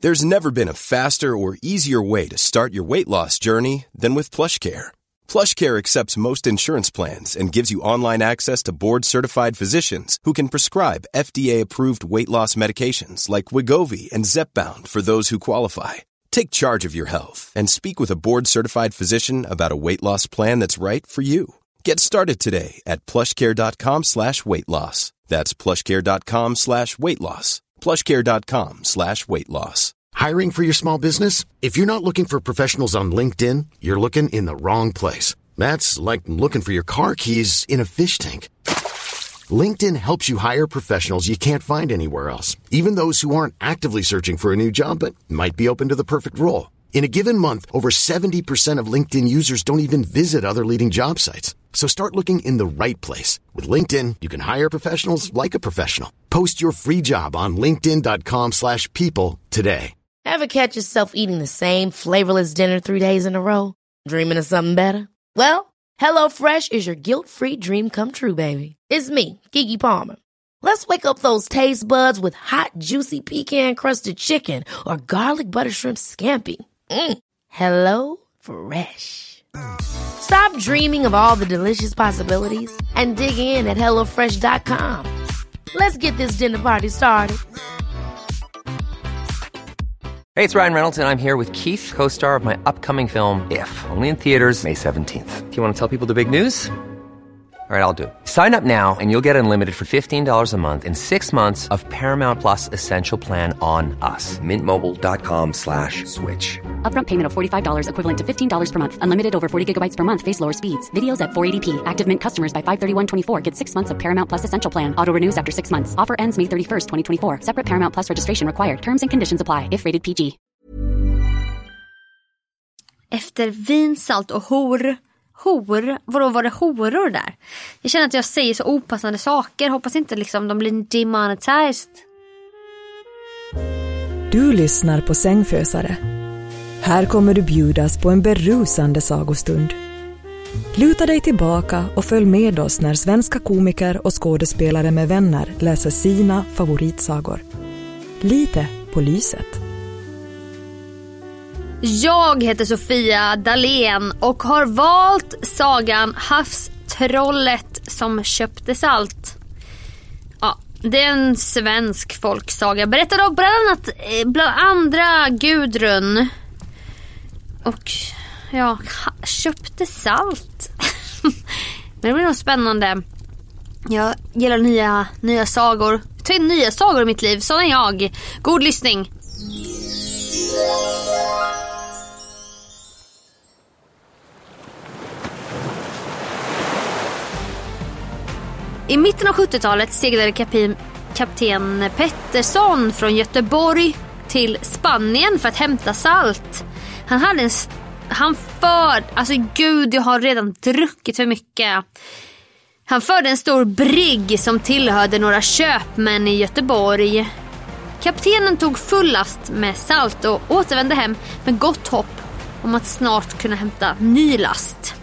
There's never been a faster or easier way to start your weight loss journey than with PlushCare. PlushCare accepts most insurance plans and gives you online access to board-certified physicians who can prescribe FDA-approved weight loss medications like Wegovy and Zepbound for those who qualify. Take charge of your health and speak with a board-certified physician about a weight loss plan that's right for you. Get started today at plushcare.com/weightloss. That's plushcare.com/weightloss. plushcare.com/weightloss. Hiring for your small business? If you're not looking for professionals on LinkedIn, you're looking in the wrong place. That's like looking for your car keys in a fish tank. LinkedIn helps you hire professionals you can't find anywhere else, even those who aren't actively searching for a new job but might be open to the perfect role. In a given month, over 70% of LinkedIn users don't even visit other leading job sites. So start looking in the right place. With LinkedIn, you can hire professionals like a professional. Post your free job on linkedin.com/people today. Ever catch yourself eating the same flavorless dinner 3 days in a row? Dreaming of something better? Well, HelloFresh is your guilt-free dream come true, baby. It's me, Keke Palmer. Let's wake up those taste buds with hot, juicy pecan-crusted chicken or garlic butter shrimp scampi. Hello Fresh. Stop dreaming of all the delicious possibilities and dig in at HelloFresh.com. Let's get this dinner party started. Hey, it's Ryan Reynolds, and I'm here with Keith, co-star of my upcoming film, If, only in theaters May 17th. Do you want to tell people the big news? All right, I'll do it. Sign up now and you'll get unlimited for $15 a month and 6 months of Paramount Plus Essential Plan on us. MintMobile.com/switch. Upfront payment of $45 equivalent to $15 per month. Unlimited over 40 gigabytes per month. Face lower speeds. Videos at 480p. Active Mint customers by 531.24 get 6 months of Paramount Plus Essential Plan. Auto renews after 6 months. Offer ends May 31st, 2024. Separate Paramount Plus registration required. Terms and conditions apply if rated PG. Efter vin, salt och hor. Vadå, var det horor där? Jag känner att jag säger så opassande saker. Hoppas inte liksom de blir demonetized. Du lyssnar på Sängfösare. Här kommer du bjudas på en berusande sagostund. Luta dig tillbaka och följ med oss när svenska komiker och skådespelare med vänner läser sina favoritsagor. Lite på lyset. Jag heter Sofia Dalén och har valt sagan Havstrollet som köpte salt. Ja, det är en svensk folksaga. Berättar dock bland andra Gudrun. Och ja, köpte salt. Men det blir nog spännande. Jag gillar nya sagor. Ta in nya sagor i mitt liv, sån är jag. God lyssning. I mitten av 70-talet seglade kapten Pettersson från Göteborg till Spanien för att hämta salt. Jag har redan druckit för mycket. Han förde en stor brigg som tillhörde några köpmän i Göteborg. Kaptenen tog full last med salt och återvände hem med gott hopp om att snart kunna hämta ny last.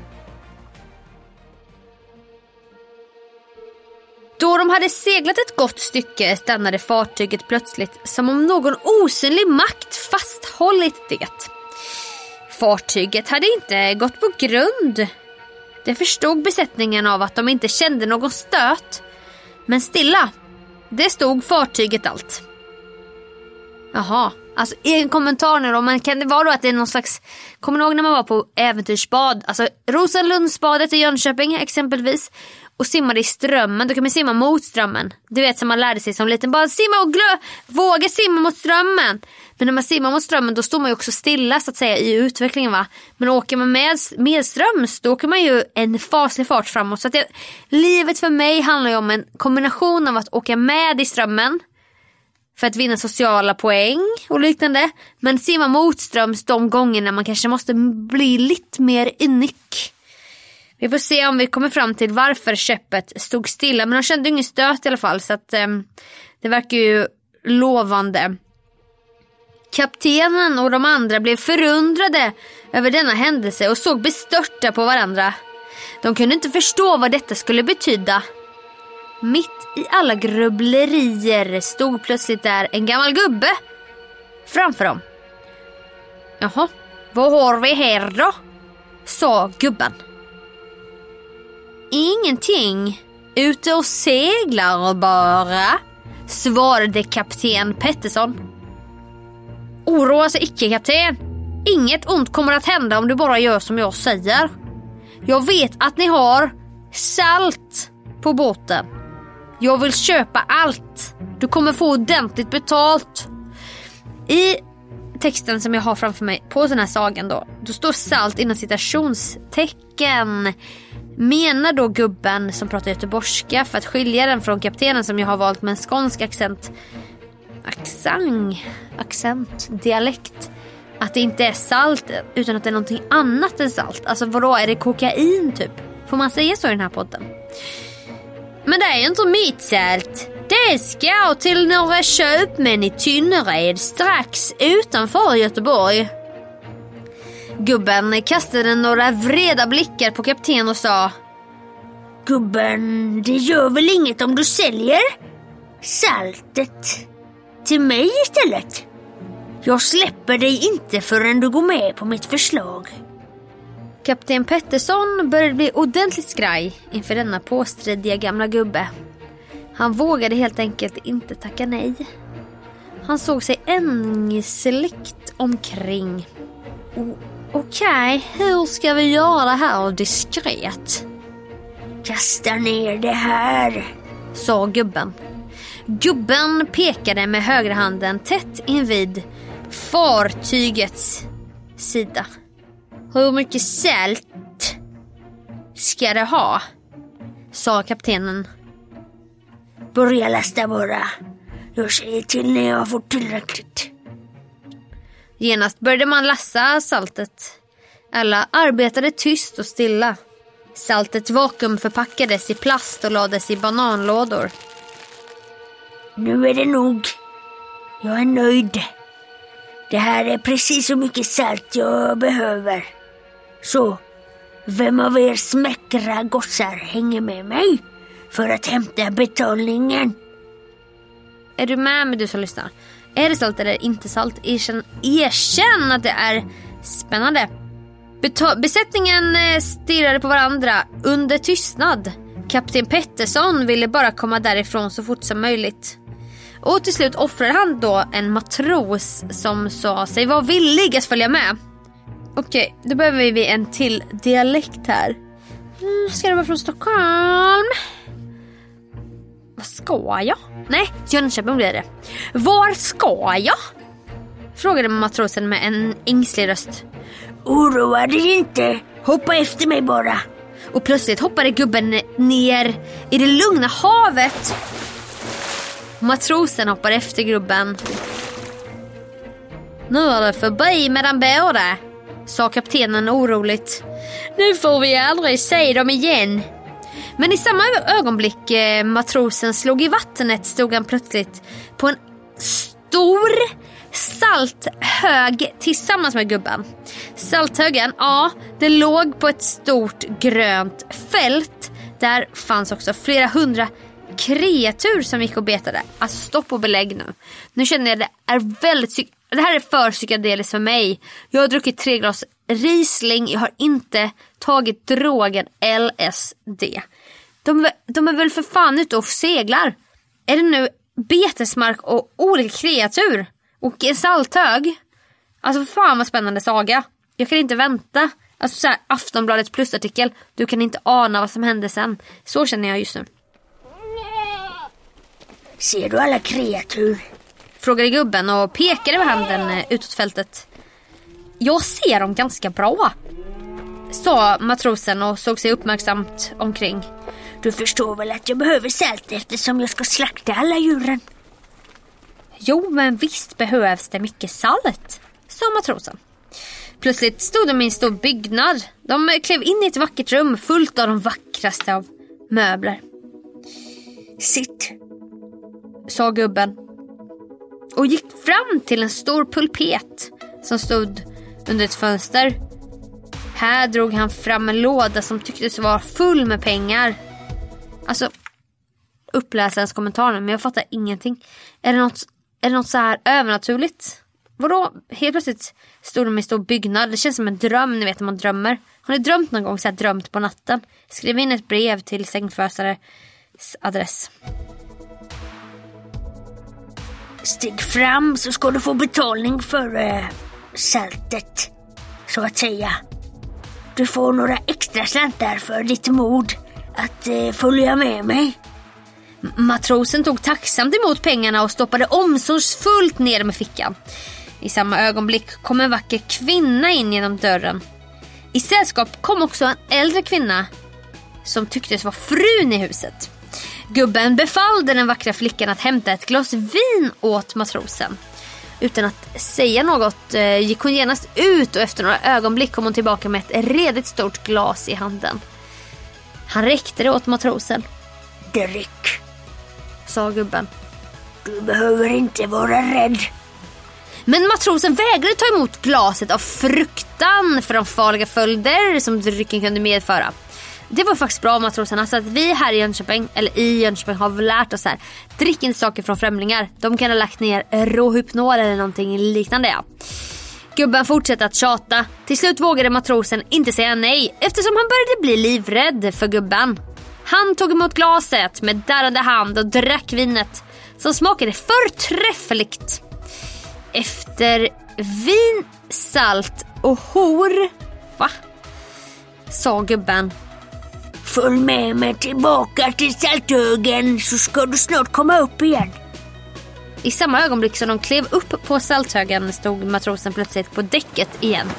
Då de hade seglat ett gott stycke stannade fartyget plötsligt som om någon osynlig makt fasthållit det. Fartyget hade inte gått på grund. Det förstod besättningen av att de inte kände någon stöt. Men stilla, det stod fartyget allt. Jaha, alltså en kommentar nu då. Men kan det vara då att det är någon slags... Kommer ni ihåg när man var på äventyrsbad? Alltså Rosenlundsbadet i Jönköping exempelvis. Och simmade i strömmen. Då kan man simma mot strömmen. Du vet som man lärde sig som liten. Bara simma och våga simma mot strömmen. Men när man simmar mot strömmen då står man ju också stilla så att säga i utvecklingen va. Men åker man med ströms då åker man ju en faslig fart framåt. Så att livet för mig handlar ju om en kombination av att åka med i strömmen. För att vinna sociala poäng och liknande. Men simma motströms de gångerna man kanske måste bli lite mer unik. Vi får se om vi kommer fram till varför skeppet stod stilla. Men de kände ingen stöt i alla fall. Så att det verkar ju lovande. Kaptenen och de andra blev förundrade över denna händelse och såg bestörta på varandra. De kunde inte förstå vad detta skulle betyda. Mitt i alla grubblerier stod plötsligt där en gammal gubbe. framför dem. Jaha, vad har vi här då? Sa gubben. Ingenting, ute och seglar bara, svarade kapten Pettersson. Oroa sig icke, kapten. Inget ont kommer att hända om du bara gör som jag säger. Jag vet att ni har salt på båten. Jag vill köpa allt. Du kommer få ordentligt betalt. I texten som jag har framför mig på den här sagan då står salt inom citationstecken. Menar då gubben som pratar göteborgska, för att skilja den från kaptenen som jag har valt med en skånsk accent, dialekt, att det inte är salt utan att det är någonting annat än salt. Alltså vadå, är det kokain typ? Får man säga så i den här podden? Men det är ju inte mitt salt. Det ska till några köpmän i Tynnered strax utanför Göteborg. Gubben kastade några vreda blickar på kapten och sa: Gubben, det gör väl inget om du säljer saltet till mig istället. Jag släpper dig inte förrän du går med på mitt förslag. Kapten Pettersson började bli ordentligt skraj inför denna påstridiga gamla gubbe. Han vågade helt enkelt inte tacka nej. Han såg sig ängsligt omkring. Okej, hur ska vi göra det här diskret? Kasta ner det här, sa gubben. Gubben pekade med högra handen tätt invid fartygets sida. Hur mycket salt ska det ha? Sa kaptenen. Börja lasta bara. Jag säger till när jag får tillräckligt. Genast började man lassa saltet. Alla arbetade tyst och stilla. Saltet vakuumförpackades i plast och lades i bananlådor. Nu är det nog. Jag är nöjd. Det här är precis så mycket salt jag behöver. Så, vem av er smäckra gossar hänger med mig för att hämta betalningen? Är du med du som lyssnar? Är det salt eller inte salt? Erkänn att det är spännande. Besättningen stirrade på varandra under tystnad. Kapten Pettersson ville bara komma därifrån så fort som möjligt. Och till slut offrade han då en matros som sa sig vara villig att följa med. Okej, då behöver vi en till dialekt här. Ska det vara från Stockholm? Vad ska jag? Nej, Jönköping blir det. Var ska jag? Frågade matrosen med en ängslig röst. Oroa dig inte, hoppa efter mig bara. Och plötsligt hoppade gubben ner i det lugna havet. Matrosen hoppade efter gubben. Nu är det förbi med den båda, sa kaptenen oroligt. Nu får vi aldrig se dem igen. Men i samma ögonblick matrosen slog i vattnet stod han plötsligt på en stor salthög tillsammans med gubben. Salthögen, ja, det låg på ett stort grönt fält. Där fanns också flera hundra kreatur som gick och betade. Alltså stopp och belägg nu. Nu känner jag det här är för psykedeliskt för mig. Jag har druckit 3 glas Riesling. Jag har inte tagit drogen LSD. De är väl för fan ute och seglar. Är det nu betesmark och olika kreatur och en salthög? Alltså fan vad spännande saga. Jag kan inte vänta. Alltså så här, Aftonbladets plusartikel. Du kan inte ana vad som hände sen. Så känner jag just nu. Ser du alla kreatur? Frågade gubben och pekade med handen utåt fältet. Jag ser dem ganska bra, sa matrosen och såg sig uppmärksamt omkring. Du förstår väl att jag behöver salt eftersom jag ska slakta alla djuren? Jo, men visst behövs det mycket salt, sa matrosen. Plötsligt stod de i en stor byggnad. De klev in i ett vackert rum fullt av de vackraste av möbler. Sitt, sa gubben och gick fram till en stor pulpet som stod under ett fönster. Här drog han fram en låda som tycktes vara full med pengar. Alltså, uppläsarens kommentarer, men jag fattar ingenting. Är det något så här övernaturligt? Vadå? Helt plötsligt stod de i en stor byggnad. Det känns som en dröm, ni vet när man drömmer. Har ni drömt någon gång så här drömt på natten? Skriv in ett brev till sängfösares adress. Stig fram så ska du få betalning för saltet, så att säga. Du får några extra slantar för ditt mod att följa med mig. Matrosen tog tacksamt emot pengarna och stoppade omsorgsfullt ner med fickan. I samma ögonblick kom en vacker kvinna in genom dörren. I sällskap kom också en äldre kvinna som tycktes vara frun i huset. Gubben befallde den vackra flickan att hämta ett glas vin åt matrosen. Utan att säga något gick hon genast ut och efter några ögonblick kom hon tillbaka med ett redigt stort glas i handen. Han räckte det åt matrosen. Drick, sa gubben. Du behöver inte vara rädd. Men matrosen vägrade ta emot glaset av fruktan för de farliga följder som drycken kunde medföra. Det var faktiskt bra, matrosen. Alltså att vi här i Jönköping, eller i Jönköping, har lärt oss här. Drick inte saker från främlingar. De kan ha lagt ner råhypnol eller någonting liknande. Ja. Gubben fortsatte att tjata. Till slut vågade matrosen inte säga nej, eftersom han började bli livrädd för gubben. Han tog emot glaset med darrande hand och drack vinet, som smakade förträffligt. Efter vin, salt och hor, va? Sa gubben. Följ med mig tillbaka till salthögen så ska du snart komma upp igen. I samma ögonblick som de klev upp på salthögen stod matrosen plötsligt på däcket igen.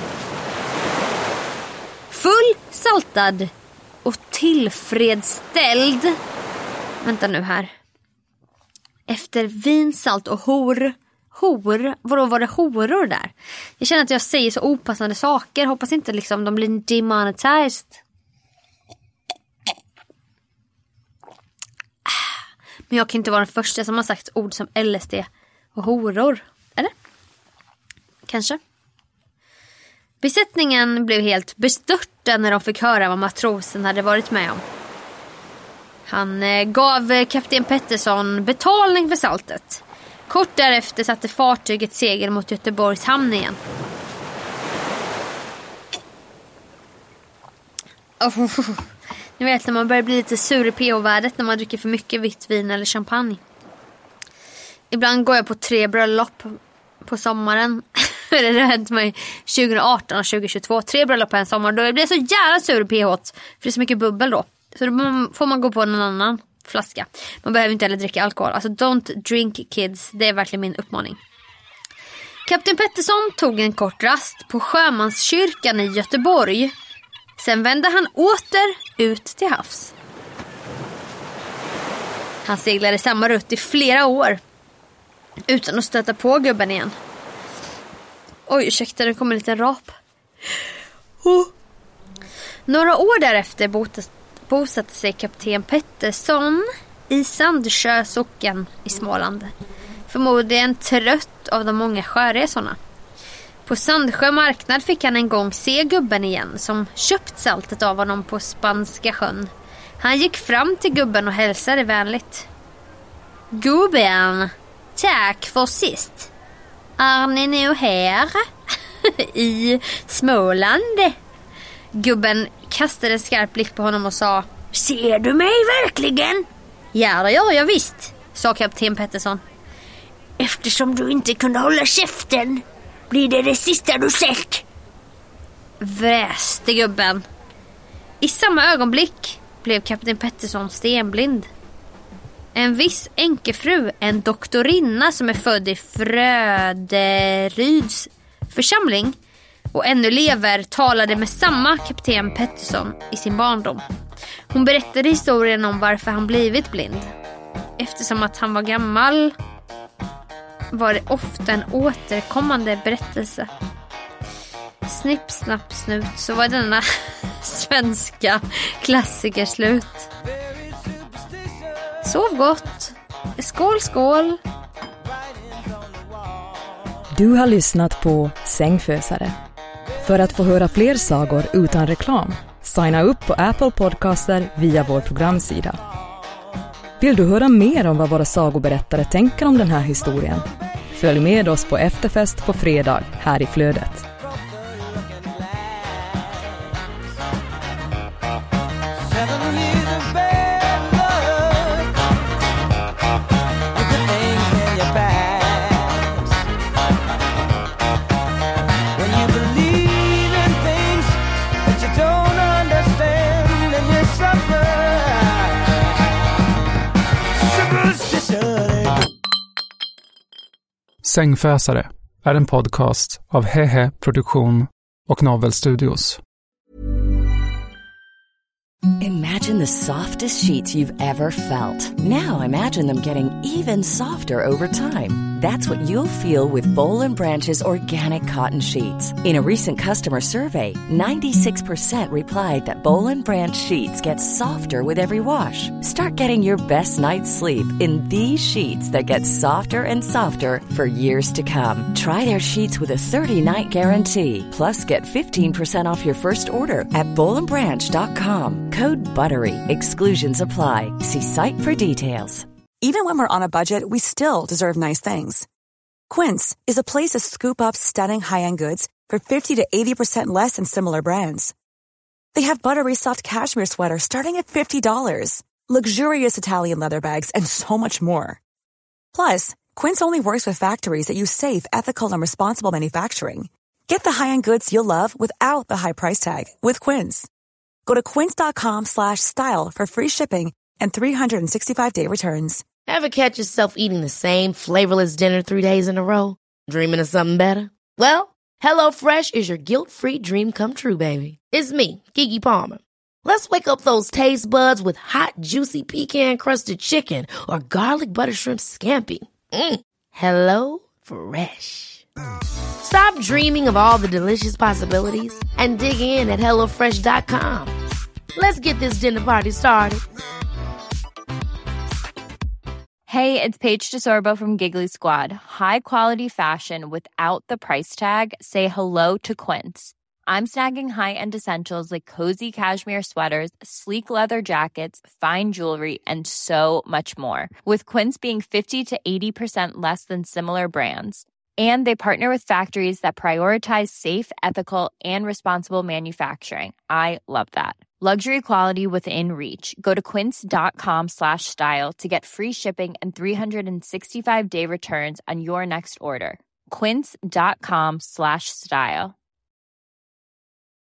Full, saltad och tillfredsställd. Vänta nu här. Efter vin, salt och hor. Hor? Vadå, var det horor där? Jag känner att jag säger så opassande saker. Hoppas inte liksom de blir demonetized. Men jag kan inte vara den första som har sagt ord som LSD och horor. Eller? Kanske. Besättningen blev helt bestörta när de fick höra vad matrosen hade varit med om. Han gav kapten Pettersson betalning för saltet. Kort därefter satte fartyget segel mot Göteborgs hamn igen. Ni vet när man börjar bli lite sur i pH-värdet när man dricker för mycket vitt vin eller champagne. Ibland går jag på 3 bröllop på sommaren. Det har hänt mig 2018 och 2022. 3 bröllop på en sommar. Då blir jag så jävla sur i pH. För det är så mycket bubbel då. Så då får man gå på en annan flaska. Man behöver inte heller dricka alkohol. Alltså don't drink kids. Det är verkligen min uppmaning. Kapten Pettersson tog en kort rast på Sjömanskyrkan i Göteborg. Sen vände han åter ut till havs. Han seglade samma rutt i flera år utan att stöta på gubben igen. Oj, ursäkta, det kommer en liten rap. Några år därefter bosatte sig kapten Pettersson i Sandsjö socken i Småland. Förmodligen trött av de många sjöresorna. På Sandsjö marknad fick han en gång se gubben igen som köpt saltet av honom på Spanska sjön. Han gick fram till gubben och hälsade vänligt. Gubben, tack för sist. Är ni nu här i Småland? Gubben kastade en skarp blick på honom och sa: Ser du mig verkligen? Ja, det gör jag visst, sa kapten Pettersson. Eftersom du inte kunde hålla käften blir det sista du sett, väste gubben. I samma ögonblick blev kapten Pettersson stenblind. En viss enkefru, en doktorinna som är född i Fröderyds församling och ännu lever, talade med samma kapten Pettersson i sin barndom. Hon berättade historien om varför han blivit blind. Eftersom att han var gammal var det ofta en återkommande berättelse. Snipp, snapp, snut, så var denna svenska klassiker slut. Sov gott. Skål, skål. Du har lyssnat på Sängfösare. För att få höra fler sagor utan reklam, signa upp på Apple Podcaster via vår programsida. Vill du höra mer om vad våra sagoberättare tänker om den här historien? Följ med oss på efterfest på fredag här i flödet. Sängfösare är en podcast av Hehe Produktion och Novel Studios. Imagine the softest sheets you've ever felt. Now imagine them getting even softer over time. That's what you'll feel with Boll & Branch's organic cotton sheets. In a recent customer survey, 96% replied that Boll & Branch sheets get softer with every wash. Start getting your best night's sleep in these sheets that get softer and softer for years to come. Try their sheets with a 30-night guarantee. Plus, get 15% off your first order at bollandbranch.com. Code BUTTERY. Exclusions apply. See site for details. Even when we're on a budget, we still deserve nice things. Quince is a place to scoop up stunning high-end goods for 50 to 80% less than similar brands. They have buttery soft cashmere sweaters starting at $50, luxurious Italian leather bags, and so much more. Plus, Quince only works with factories that use safe, ethical, and responsible manufacturing. Get the high-end goods you'll love without the high price tag with Quince. Go to quince.com/style for free shipping and 365-day returns. Ever catch yourself eating the same flavorless dinner 3 days in a row? Dreaming of something better? Well, HelloFresh is your guilt-free dream come true, baby. It's me, Keke Palmer. Let's wake up those taste buds with hot, juicy pecan-crusted chicken or garlic butter shrimp scampi. Hello Fresh. Stop dreaming of all the delicious possibilities and dig in at HelloFresh.com. Let's get this dinner party started. Hey, it's Paige DeSorbo from Giggly Squad. High quality fashion without the price tag. Say hello to Quince. I'm snagging high-end essentials like cozy cashmere sweaters, sleek leather jackets, fine jewelry, and so much more. With Quince being 50 to 80% less than similar brands. And they partner with factories that prioritize safe, ethical, and responsible manufacturing. I love that. Luxury quality within reach. Go to quince.com/style to get free shipping and 365-day returns on your next order. Quince.com/style.